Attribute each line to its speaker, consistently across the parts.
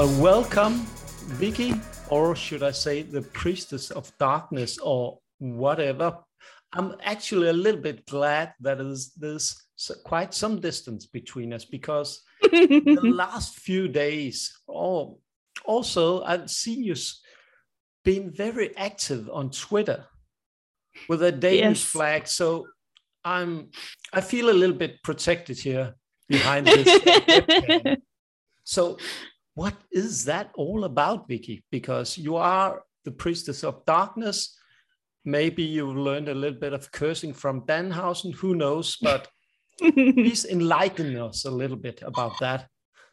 Speaker 1: Welcome, Vicky, or should I say the priestess of darkness, or whatever. I'm actually a little bit glad that there's quite some distance between us because the last few days, also I've seen you being very active on Twitter with a Danish flag. So I feel a little bit protected here behind this webcam. So what is that all about, Vicky? Because you are the priestess of darkness. Maybe you learned a little bit of cursing from Danhausen, who knows? But please enlighten us a little bit about that.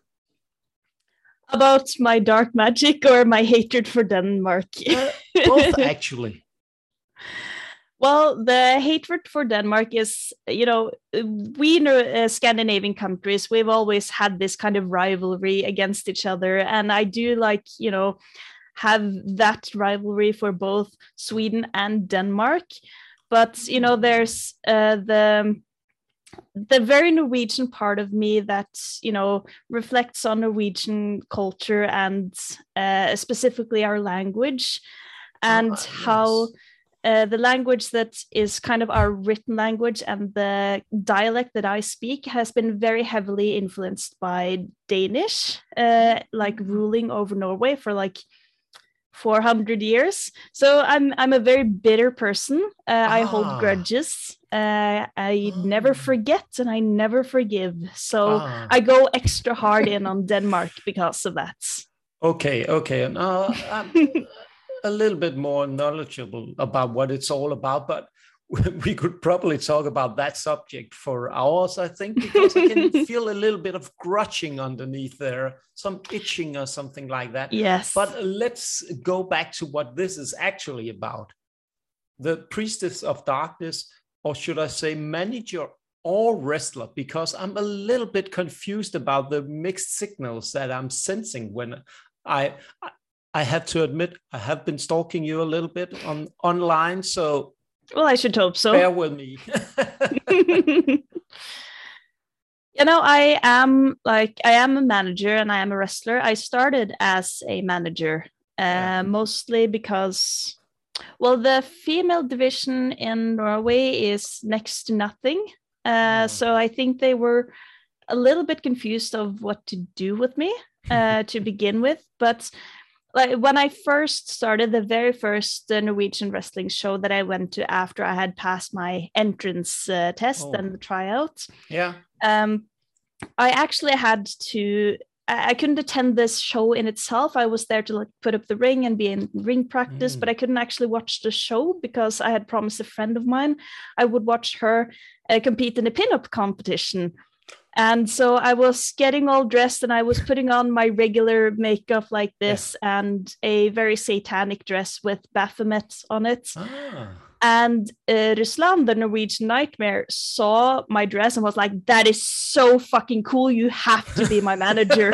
Speaker 2: About my dark magic or my hatred for Denmark?
Speaker 1: Both, actually.
Speaker 2: Well, the hatred for Denmark is, we in Scandinavian countries, we've always had this kind of rivalry against each other. And I do have that rivalry for both Sweden and Denmark. But, there's the very Norwegian part of me that, reflects on Norwegian culture and specifically our language and how... the language that is kind of our written language and the dialect that I speak has been very heavily influenced by Danish, ruling over Norway for 400 years. So I'm a very bitter person. I hold grudges. I never forget and I never forgive. So I go extra hard in on Denmark because of that.
Speaker 1: Okay. A little bit more knowledgeable about what it's all about, but we could probably talk about that subject for hours, I think, because I can feel a little bit of grudging underneath there, some itching or something like that.
Speaker 2: Yes.
Speaker 1: But let's go back to what this is actually about. The priestess of darkness, or should I say manager or wrestler, because I'm a little bit confused about the mixed signals that I'm sensing when I have to admit, I have been stalking you a little bit online, so...
Speaker 2: Well, I should hope so.
Speaker 1: Bear with me.
Speaker 2: I am a manager and I am a wrestler. I started as a manager, mostly because, the female division in Norway is next to nothing. So I think they were a little bit confused of what to do with me to begin with, but... when I first started, the very first Norwegian wrestling show that I went to after I had passed my entrance test and the tryout, I actually had to. I couldn't attend this show in itself. I was there to put up the ring and be in ring practice, but I couldn't actually watch the show because I had promised a friend of mine I would watch her compete in a pinup competition. And so I was getting all dressed and I was putting on my regular makeup like this and a very satanic dress with Baphomet on it. And Ruslan, the Norwegian Nightmare, saw my dress and was like, that is so fucking cool. You have to be my manager.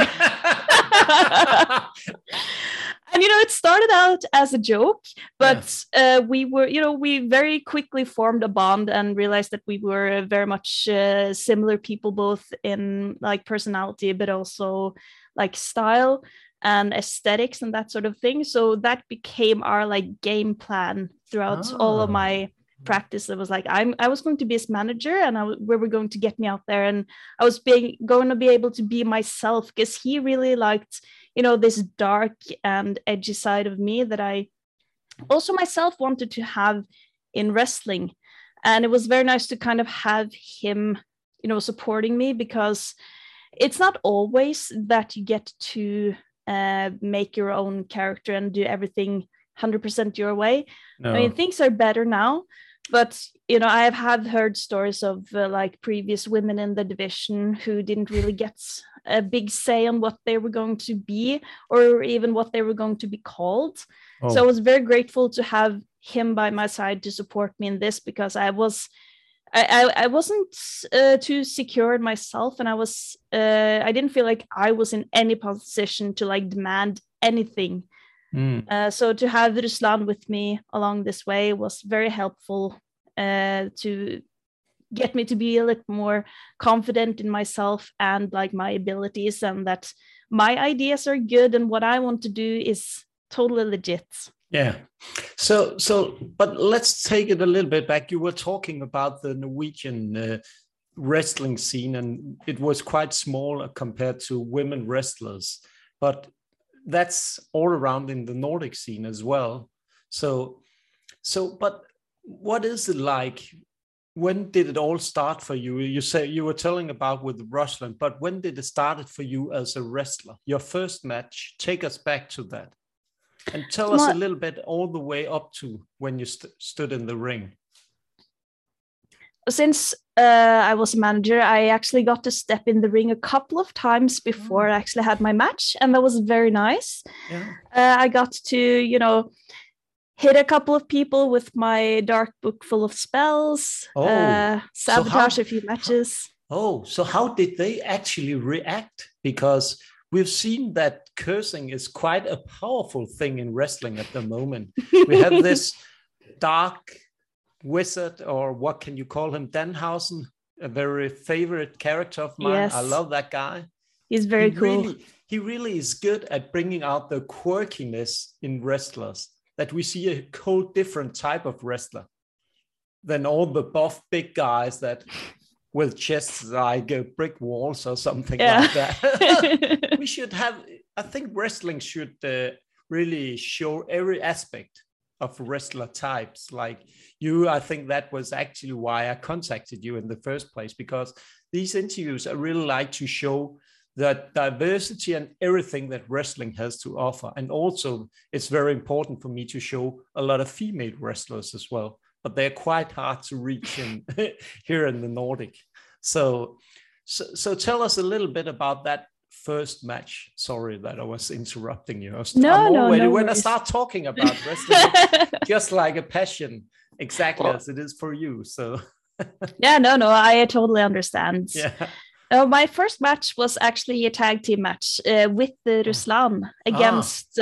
Speaker 2: And, it started out as a joke, but we very quickly formed a bond and realized that we were very much similar people, both in personality, but also style and aesthetics and that sort of thing. So that became our game plan throughout all of my practice. It was I was going to be his manager and we were going to get me out there and I was going to be able to be myself because he really liked this dark and edgy side of me that I also myself wanted to have in wrestling. And it was very nice to kind of have him, supporting me because it's not always that you get to make your own character and do everything 100% your way. No. I mean, things are better now, but I have heard stories of previous women in the division who didn't really get a big say on what they were going to be or even what they were going to be called. So I was very grateful to have him by my side to support me in this because I wasn't too secure in myself and I didn't feel like I was in any position to demand anything. So to have Ruslan with me along this way was very helpful to get me to be a little more confident in myself and my abilities, and that my ideas are good and what I want to do is totally legit.
Speaker 1: Yeah. So, but let's take it a little bit back. You were talking about the Norwegian wrestling scene, and it was quite small compared to women wrestlers, but that's all around in the Nordic scene as well. So, but what is it like? When did it all start for you? You say you were telling about with Ruslan, but when did it start for you as a wrestler? Your first match, take us back to that. And tell us a little bit all the way up to when you stood in the ring.
Speaker 2: Since I was a manager, I actually got to step in the ring a couple of times before I actually had my match. And that was very nice. Yeah. I got to, hit a couple of people with my dark book full of spells, sabotage a few matches.
Speaker 1: So how did they actually react? Because we've seen that cursing is quite a powerful thing in wrestling at the moment. We have this dark wizard, or what can you call him? Danhausen, a very favorite character of mine. Yes. I love that guy.
Speaker 2: He's very cool.
Speaker 1: He really is good at bringing out the quirkiness in wrestlers, that we see a whole different type of wrestler than all the buff big guys that with chests like brick walls or something like that. We should have, I think wrestling should really show every aspect of wrestler types. Like you, I think that was actually why I contacted you in the first place, because these interviews I really like to show that diversity and everything that wrestling has to offer. And also it's very important for me to show a lot of female wrestlers as well, but they're quite hard to reach in here in the Nordic. So tell us a little bit about that first match. Sorry that I was interrupting you. When I start talking about wrestling, just like a passion, exactly as it is for you. So
Speaker 2: I totally understand.
Speaker 1: Yeah.
Speaker 2: My first match was actually a tag team match with Ruslan against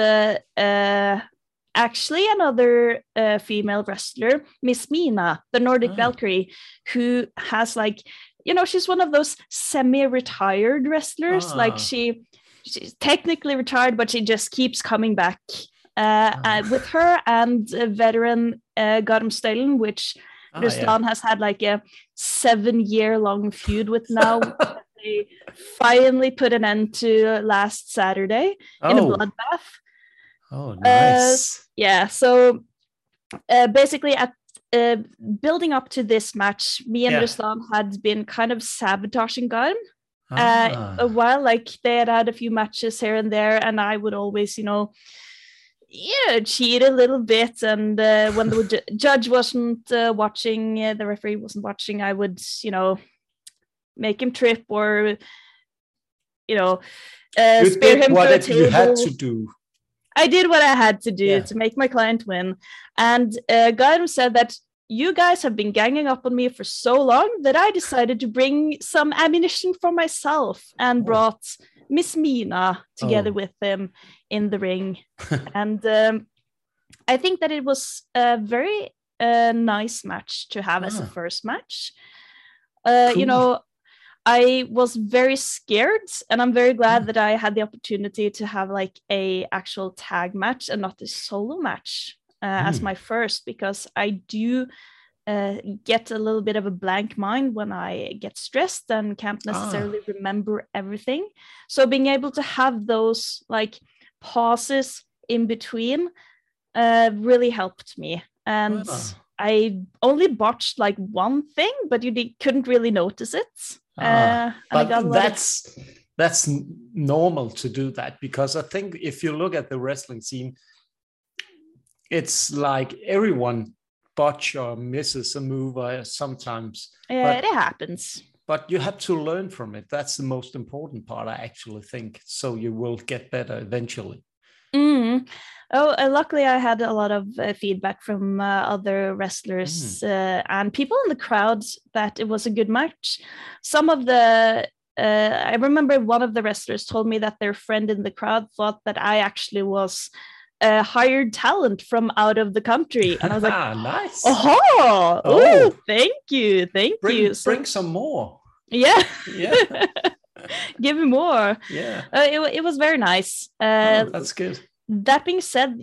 Speaker 2: actually another female wrestler, Miss Mina, the Nordic Valkyrie, who has she's one of those semi-retired wrestlers. Like she's technically retired, but she just keeps coming back. With her and veteran Garmstellen, which Ruslan has had like a 7-year-long feud with now. They finally put an end to last Saturday in a bloodbath.
Speaker 1: Oh, nice.
Speaker 2: So basically at building up to this match, me and Ruslan had been kind of sabotaging Garm a while. Like they had a few matches here and there, and I would always, cheat a little bit. And when the judge wasn't watching, the referee wasn't watching, I would, make him trip or, spear him for a table.
Speaker 1: You had to do.
Speaker 2: I did what I had to do to make my client win. And Garm said that you guys have been ganging up on me for so long that I decided to bring some ammunition for myself and brought Miss Mina together with him in the ring. And I think that it was a very nice match to have as a first match. Cool. I was very scared, and I'm very glad that I had the opportunity to have like a actual tag match and not a solo match as my first, because I do get a little bit of a blank mind when I get stressed and can't necessarily remember everything. So being able to have those like pauses in between really helped me. And I only botched like one thing, but you couldn't really notice it.
Speaker 1: But that's normal to do that, because I think if you look at the wrestling scene, it's like everyone botch or misses a move sometimes.
Speaker 2: It happens.
Speaker 1: But you have to learn from it. That's the most important part, I actually think. So you will get better eventually.
Speaker 2: Luckily I had a lot of feedback from other wrestlers and people in the crowd that it was a good match. Some of the I remember one of the wrestlers told me that their friend in the crowd thought that I actually was hired talent from out of the country, and I was like,
Speaker 1: nice.
Speaker 2: Oh, thank you.
Speaker 1: Bring some more.
Speaker 2: Yeah. Give me more.
Speaker 1: Yeah.
Speaker 2: It was very nice.
Speaker 1: That's good.
Speaker 2: That being said,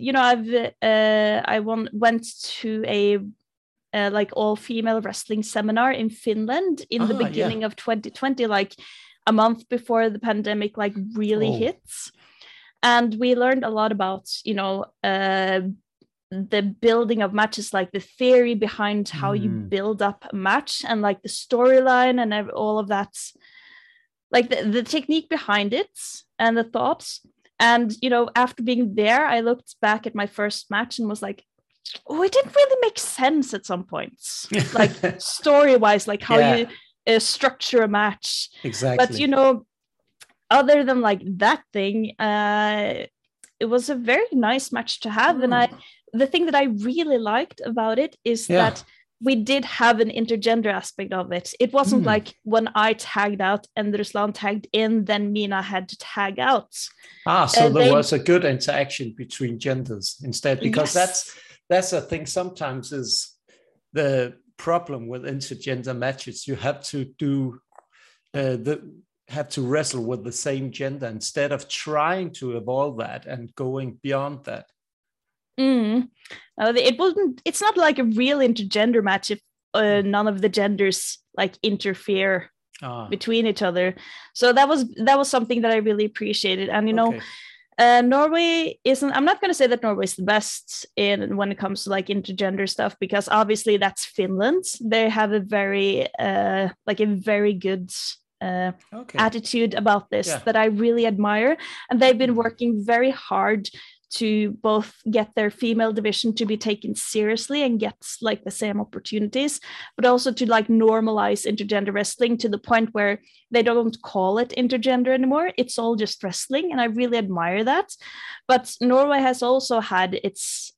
Speaker 2: went to a like all-female wrestling seminar in Finland in the beginning of 2020, like a month before the pandemic like really hits. And we learned a lot about, the building of matches, like the theory behind how you build up a match and like the storyline and all of that, like the technique behind it and the thoughts. And, after being there, I looked back at my first match and was like, oh, it didn't really make sense at some points, like story-wise, like how you structure a match.
Speaker 1: Exactly.
Speaker 2: But, other than like that thing, it was a very nice match to have. And the thing that I really liked about it is that we did have an intergender aspect of it. It wasn't like when I tagged out and Ruslan tagged in, then Mina had to tag out.
Speaker 1: So there was a good interaction between genders instead, because that's a thing sometimes is the problem with intergender matches. You have to do have to wrestle with the same gender instead of trying to evolve that and going beyond that.
Speaker 2: It's not like a real intergender match if none of the genders like interfere between each other. So that was something that I really appreciated. And Norway isn't, I'm not going to say that Norway is the best when it comes to like intergender stuff, because obviously that's Finland. They have a very good attitude about this that I really admire. And they've been working very hard to both get their female division to be taken seriously and get like the same opportunities, but also to like normalize intergender wrestling to the point where they don't call it intergender anymore. It's all just wrestling. And I really admire that. But Norway has also had its,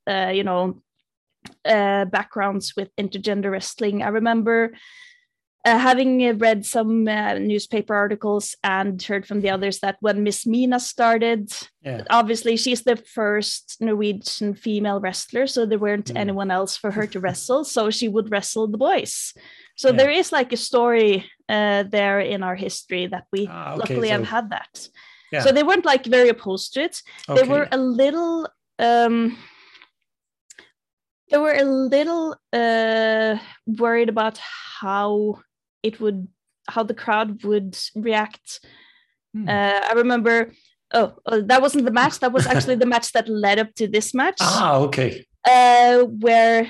Speaker 2: backgrounds with intergender wrestling. I remember having read some newspaper articles and heard from the others that when Miss Mina started, obviously she's the first Norwegian female wrestler, so there weren't anyone else for her to wrestle, so she would wrestle the boys. So there is like a story there in our history that we luckily have had that. Yeah. So they weren't like very opposed to it. Okay. They were a little worried about how the crowd would react. I remember, that wasn't the match. That was actually the match that led up to this match.
Speaker 1: Okay.
Speaker 2: Where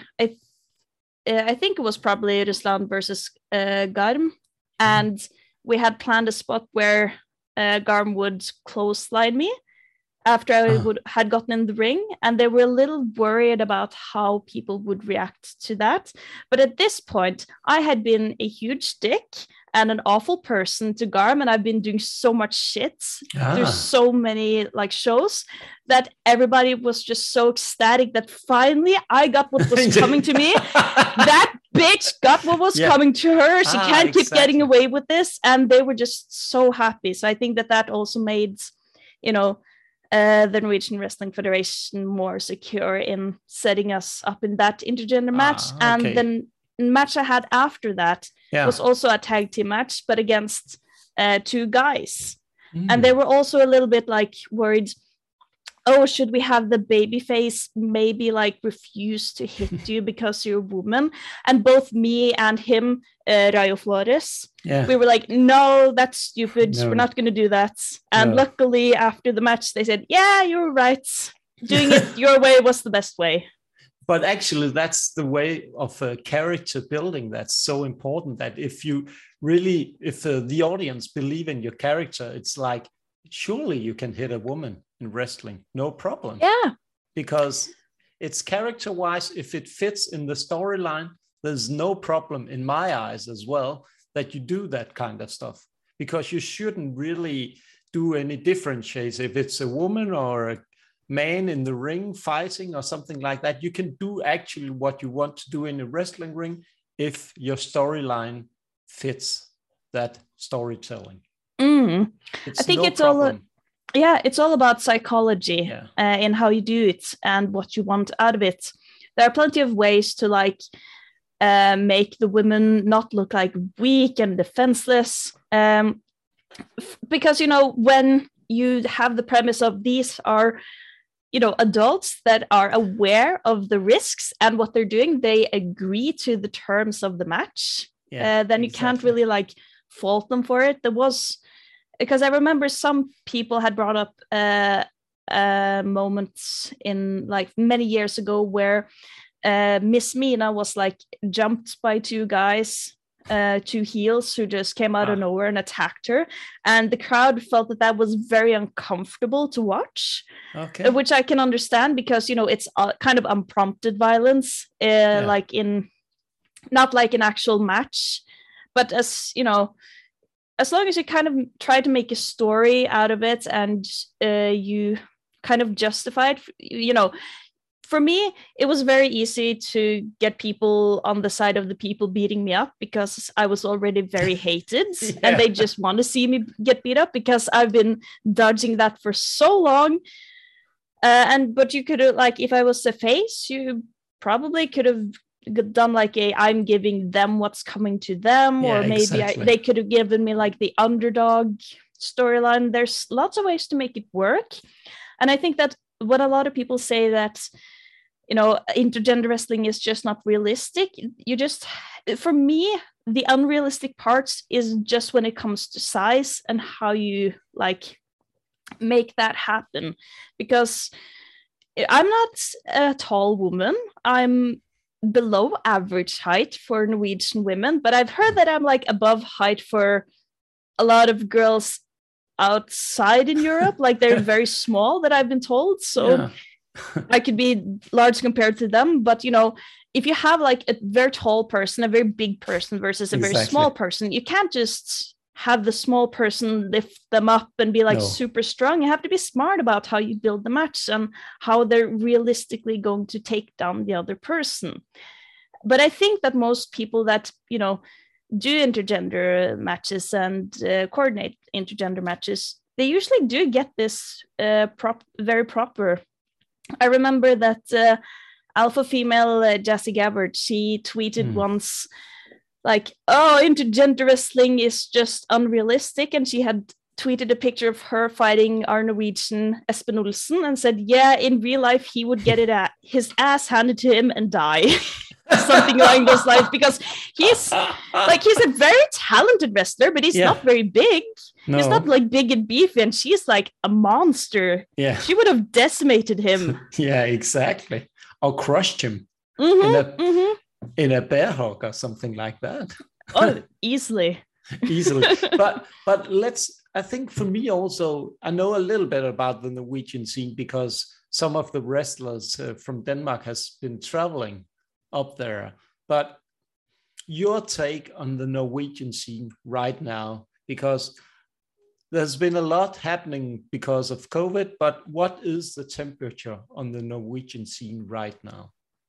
Speaker 2: I think it was probably Ruslan versus Garm. And we had planned a spot where Garm would clothesline me after I had gotten in the ring, and they were a little worried about how people would react to that. But at this point, I had been a huge dick and an awful person to Garm, and I've been doing so much shit through so many like shows that everybody was just so ecstatic that finally I got what was coming to me. That bitch got what was coming to her. She can't keep getting away with this, and they were just so happy. So I think that also made, the Norwegian Wrestling Federation more secure in setting us up in that intergender match. And then the match I had after that was also a tag team match, but against two guys. And they were also a little bit like worried, should we have the baby face maybe like refuse to hit you because you're a woman? And both me and him, Rayo Flores, we were like, no, that's stupid. No. We're not going to do that. And luckily after the match, they said, yeah, you're right. Doing it your way was the best way.
Speaker 1: But actually, that's the way of character building that's so important, that if the audience believe in your character, it's like, surely you can hit a woman in wrestling, no problem.
Speaker 2: Yeah.
Speaker 1: Because it's character-wise, if it fits in the storyline, there's no problem in my eyes as well that you do that kind of stuff. Because you shouldn't really do any differentiates. If it's a woman or a man in the ring fighting or something like that, you can do actually what you want to do in a wrestling ring if your storyline fits that storytelling.
Speaker 2: I think it's problem. It's all about psychology in how you do it and what you want out of it. There are plenty of ways to make the women not look like weak and defenseless. because, when you have the premise of these are, adults that are aware of the risks and what they're doing, they agree to the terms of the match, then you can't really like fault them for it. There was, because I remember some people had brought up moments in like many years ago where Miss Mina was like jumped by two guys, two heels who just came out of nowhere and attacked her, and the crowd felt that was very uncomfortable to watch.
Speaker 1: Okay.
Speaker 2: Which I can understand, because it's kind of unprompted violence, like in not like an actual match, but as long as you kind of try to make a story out of it and you kind of justify it, for me, it was very easy to get people on the side of the people beating me up, because I was already very hated and they just want to see me get beat up, because I've been dodging that for so long. But you could have, like, if I was the face, you probably could have done like I'm giving them what's coming to them, or maybe they could have given me like the underdog storyline. There's lots of ways to make it work. And I think that when a lot of people say that, intergender wrestling is just not realistic, for me, the unrealistic parts is just when it comes to size and how you like make that happen. Because I'm not a tall woman. I'm below average height for Norwegian women, but I've heard that I'm like above height for a lot of girls outside in Europe. Like they're very small, that I've been told. So I could be large compared to them. But, if you have like a very tall person, a very big person versus a very small person, you can't just have the small person lift them up and be like super strong. You have to be smart about how you build the match and how they're realistically going to take down the other person. But I think that most people that, do intergender matches and coordinate intergender matches, they usually do get this very proper. I remember that alpha female Jessie Gabbard, she tweeted once like, oh, intergender wrestling is just unrealistic. And she had tweeted a picture of her fighting our Norwegian Espen Olsen and said, yeah, in real life, he would get his ass handed to him and die. Something along those lines, because he's a very talented wrestler, but he's not very big. No. He's not like big and beefy, and she's like a monster. Yeah, she would have decimated him.
Speaker 1: Yeah, exactly. Or crushed him in a bear hug or something like that.
Speaker 2: Oh, easily.
Speaker 1: But I think for me also, I know a little bit about the Norwegian scene because some of the wrestlers from Denmark has been traveling up there. But your take on the Norwegian scene right now, because there's been a lot happening because of COVID, but what is the temperature on the Norwegian scene right now?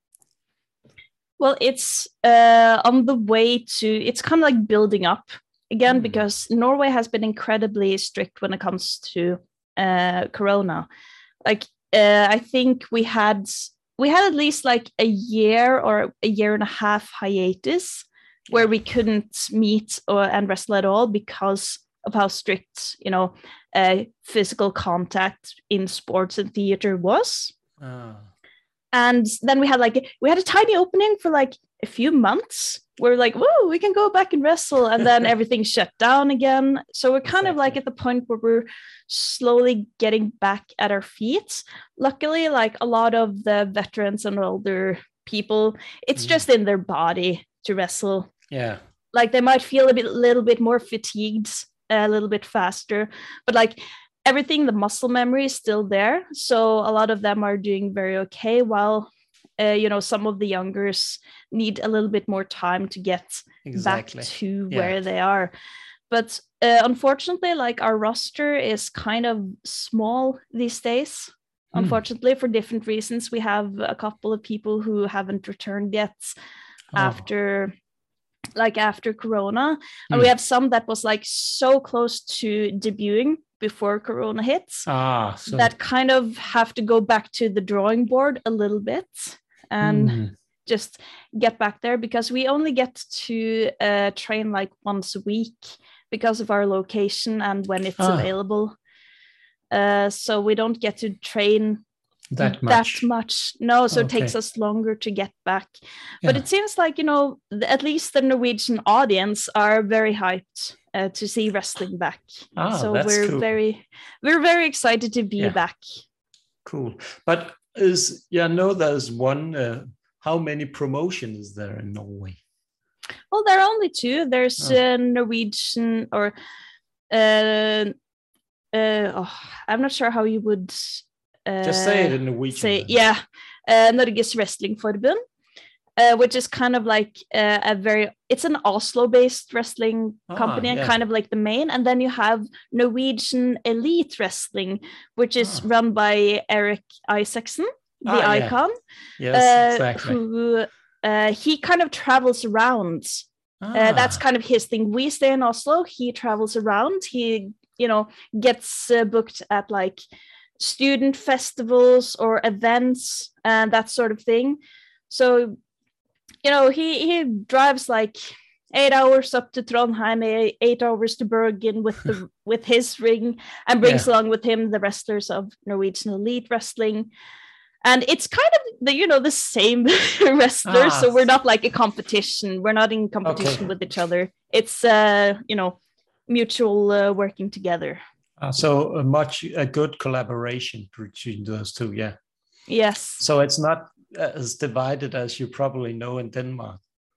Speaker 2: Well, it's on the way to, it's kind of like building up again, because Norway has been incredibly strict when it comes to Corona. Like, I think we had at least like a year or a year and a half hiatus where we couldn't meet and wrestle at all because of how strict, physical contact in sports and theater was. And then we had a tiny opening for like a few months where like, whoa, we can go back and wrestle. And then everything shut down again. So we're kind of like at the point where we're slowly getting back at our feet. Luckily, like a lot of the veterans and older people, it's just in their body to wrestle.
Speaker 1: Yeah.
Speaker 2: Like they might feel a little bit more fatigued, a little bit faster, but like everything, the muscle memory is still there. So a lot of them are doing very okay, while some of the youngers need a little bit more time to get back to where they are. But unfortunately, like our roster is kind of small these days. Unfortunately, for different reasons. We have a couple of people who haven't returned yet after Corona. And we have some that was like so close to debuting before Corona hits so that kind of have to go back to the drawing board a little bit and just get back there, because we only get to train like once a week because of our location and when it's available. So we don't get to train
Speaker 1: that much.
Speaker 2: No, so it takes us longer to get back. But it seems like, at least the Norwegian audience are very hyped to see wrestling back. So we're
Speaker 1: cool.
Speaker 2: very excited to be back.
Speaker 1: Cool. But I know there's one. How many promotions is there in Norway?
Speaker 2: Well, there are only two. There's Norwegian or I'm not sure how you would
Speaker 1: just say it in Norwegian.
Speaker 2: Norges Wrestlingforbund, which is kind of like it's an Oslo-based wrestling company and kind of like the main. And then you have Norwegian Elite Wrestling, which is run by Eric Isaacson, the icon.
Speaker 1: Yes, exactly.
Speaker 2: Who he kind of travels around. That's kind of his thing. We stay in Oslo. He travels around. He, gets booked at like student festivals or events and that sort of thing. So, he drives like 8 hours up to Trondheim, 8 hours to Bergen with his ring, and brings along with him the wrestlers of Norwegian Elite Wrestling. And it's kind of the same wrestlers, so we're not like a competition. We're not in competition with each other. It's mutual working together.
Speaker 1: So a good collaboration between those two,
Speaker 2: Yes.
Speaker 1: So it's not as divided as you probably know in Denmark.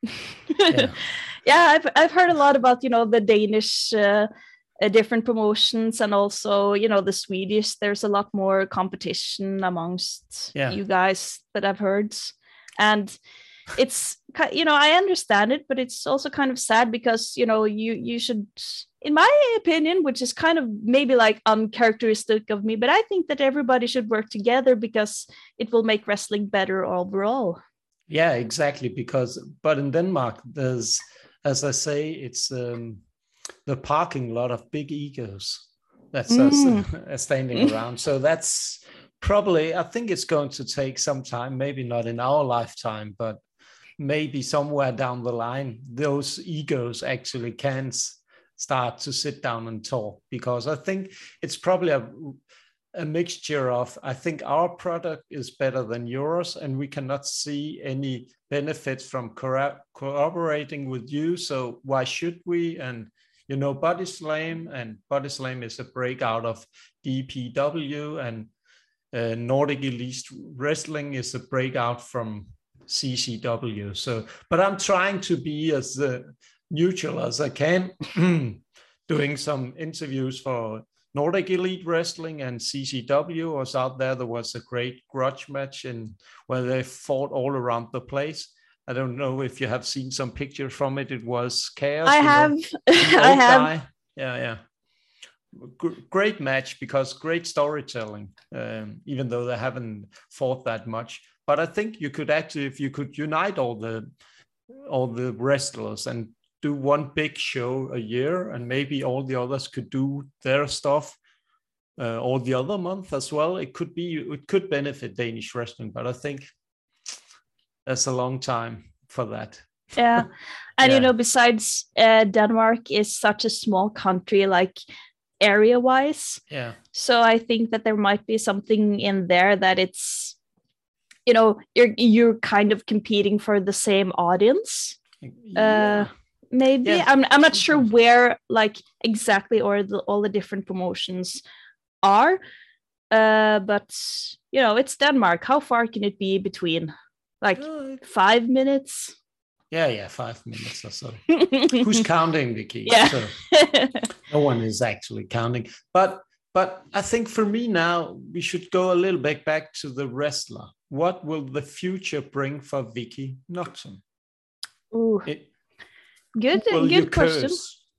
Speaker 2: I've heard a lot about the Danish different promotions, and also the Swedish. There's a lot more competition amongst you guys that I've heard, and it's I understand it, but it's also kind of sad because you should, in my opinion, which is kind of maybe like uncharacteristic of me, but I think that everybody should work together because it will make wrestling better overall.
Speaker 1: Yeah, exactly. But in Denmark, there's, as I say, it's the parking lot of big egos that's standing around. So that's probably, I think it's going to take some time, maybe not in our lifetime, but maybe somewhere down the line, those egos actually can start to sit down and talk, because I think it's probably a mixture of, I think our product is better than yours, and we cannot see any benefits from cooperating with you. So why should we? And Body Slam is a breakout of DPW, and Nordic Elite Wrestling is a breakout from CCW. So, but I'm trying to be as neutral as I can, doing some interviews for Nordic Elite Wrestling and CCW. Was out there. There was a great grudge match where they fought all around the place. I don't know if you have seen some pictures from it. It was chaos.
Speaker 2: I have. I have.
Speaker 1: Yeah. Great match, because great storytelling, even though they haven't fought that much. But I think you could actually, if you could unite all the wrestlers and do one big show a year, and maybe all the others could do their stuff all the other month as well. It could benefit Danish wrestling, but I think that's a long time for that.
Speaker 2: Yeah. And besides Denmark is such a small country, like area wise.
Speaker 1: Yeah.
Speaker 2: So I think that there might be something in there that it's, you're kind of competing for the same audience. Maybe. Yeah. I'm not sure where like exactly all the different promotions are. But it's Denmark. How far can it be between? Like 5 minutes?
Speaker 1: Yeah, 5 minutes or so. Who's counting, Vicky?
Speaker 2: Yeah.
Speaker 1: So, no one is actually counting. But I think for me now, we should go a little bit back to the wrestler. What will the future bring for Vicky Nocton?
Speaker 2: Ooh. Good question.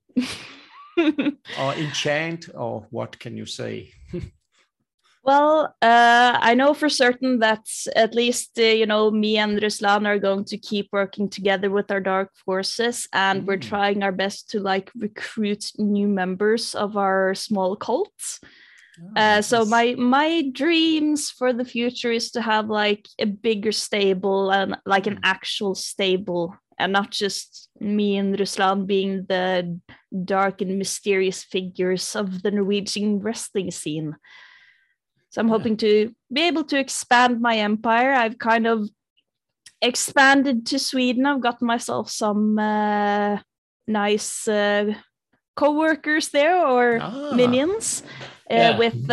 Speaker 1: Or enchant, or what can you say?
Speaker 2: Well, I know for certain that at least, me and Ruslan are going to keep working together with our Dark Forces, and we're trying our best to like recruit new members of our small cult. So my dreams for the future is to have like a bigger stable and like an actual stable and not just me and Ruslan being the dark and mysterious figures of the Norwegian wrestling scene. So I'm hoping to be able to expand my empire. I've kind of expanded to Sweden. I've got myself some nice co-workers there, or minions, with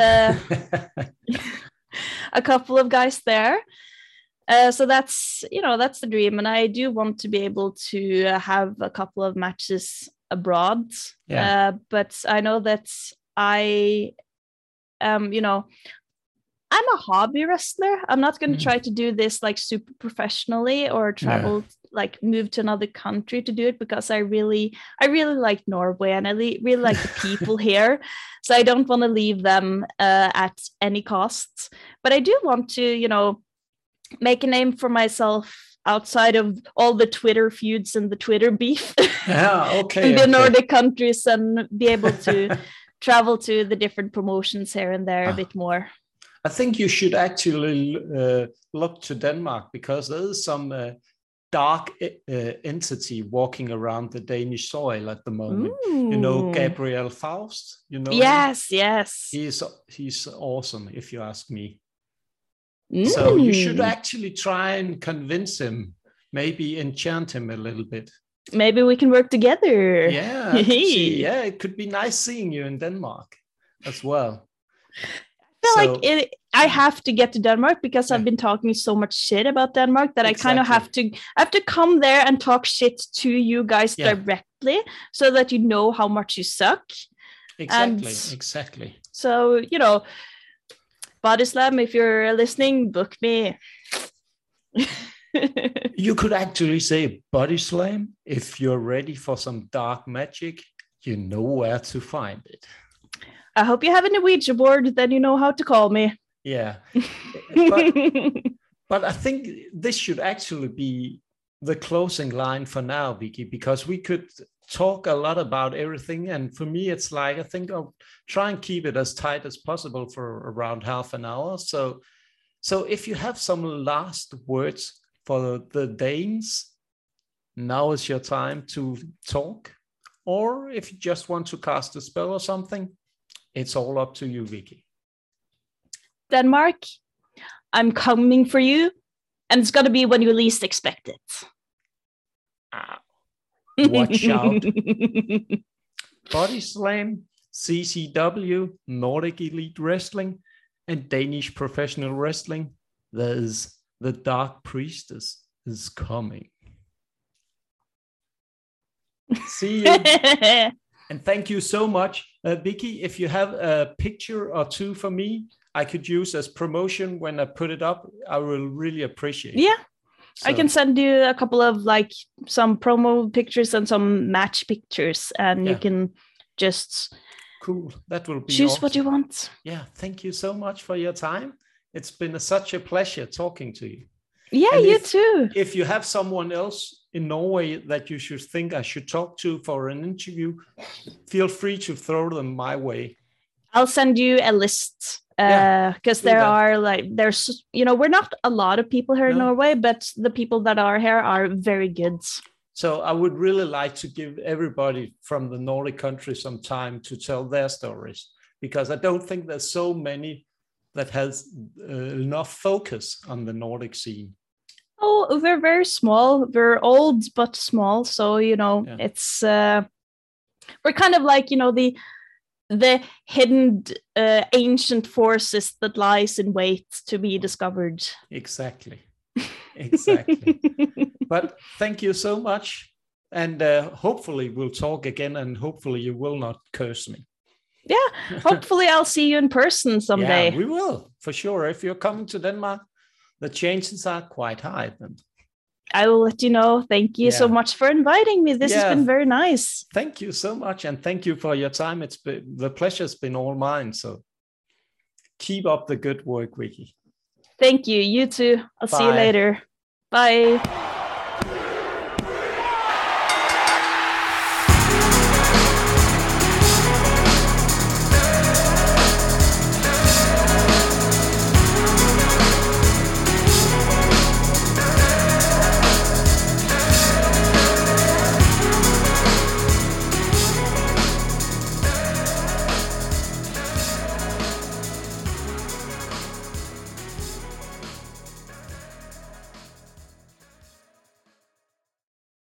Speaker 2: a couple of guys there. So that's the dream. And I do want to be able to have a couple of matches abroad. But I know that I am, I'm a hobby wrestler. I'm not going to try to do this like super professionally or travel, like move to another country to do it, because I really like Norway, and I really like the people here. So I don't want to leave them at any cost. But I do want to, make a name for myself outside of all the Twitter feuds and the Twitter beef in the Nordic countries, and be able to travel to the different promotions here and there a bit more.
Speaker 1: I think you should actually look to Denmark, because there is some dark entity walking around the Danish soil at the moment.
Speaker 2: Ooh.
Speaker 1: Gabriel Faust.
Speaker 2: Yes,
Speaker 1: him?
Speaker 2: Yes.
Speaker 1: He's awesome, if you ask me. So you should actually try and convince him, maybe enchant him a little bit.
Speaker 2: Maybe we can work together.
Speaker 1: Yeah, it could be nice seeing you in Denmark as well.
Speaker 2: I feel like I have to get to Denmark, because I've been talking so much shit about Denmark that I kind of have to come there and talk shit to you guys directly, so that you know how much you suck.
Speaker 1: Exactly.
Speaker 2: So, Body Slam, if you're listening, book me.
Speaker 1: You could actually say, Body Slam, if you're ready for some dark magic, you know where to find it.
Speaker 2: I hope you have a Norwegian board, then you know how to call me.
Speaker 1: Yeah. But I think this should actually be the closing line for now, Vicky, because we could talk a lot about everything. And for me, it's like, I think I'll try and keep it as tight as possible for around half an hour. So if you have some last words for the Danes, now is your time to talk. Or if you just want to cast a spell or something, it's all up to you, Vicky.
Speaker 2: Denmark, I'm coming for you, and it's going to be when you least expect it.
Speaker 1: Watch out. Body Slam, CCW, Nordic Elite Wrestling, and Danish Professional Wrestling. There's the Dark Priestess is coming. See you. And thank you so much. Vicky, if you have a picture or two for me, I could use as promotion when I put it up, I will really appreciate it.
Speaker 2: Yeah. So. I can send you a couple of some promo pictures and some match pictures, and you can just
Speaker 1: That will be
Speaker 2: choose
Speaker 1: awesome.
Speaker 2: What you want.
Speaker 1: Yeah, thank you so much for your time. It's been such a pleasure talking to you.
Speaker 2: Yeah, you too.
Speaker 1: If you have someone else in Norway that you should think I should talk to for an interview, feel free to throw them my way.
Speaker 2: I'll send you a list. Because there's we're not a lot of people here in Norway, but the people that are here are very good.
Speaker 1: So I would really like to give everybody from the Nordic countries some time to tell their stories, because I don't think there's so many that has enough focus on the Nordic scene.
Speaker 2: Oh, we're very small. We're old but small, so it's we're kind of like the hidden ancient forces that lies in wait to be discovered.
Speaker 1: Exactly. But thank you so much, and hopefully we'll talk again, and hopefully you will not curse me.
Speaker 2: Yeah, hopefully I'll see you in person someday.
Speaker 1: Yeah, we will, for sure. If you're coming to Denmark, the chances are quite high then.
Speaker 2: I will let you know. Thank you so much for inviting me. This has been very nice.
Speaker 1: Thank you so much. And thank you for your time. The pleasure's been all mine. So keep up the good work, Vicky.
Speaker 2: Thank you. You too. I'll see you later. Bye.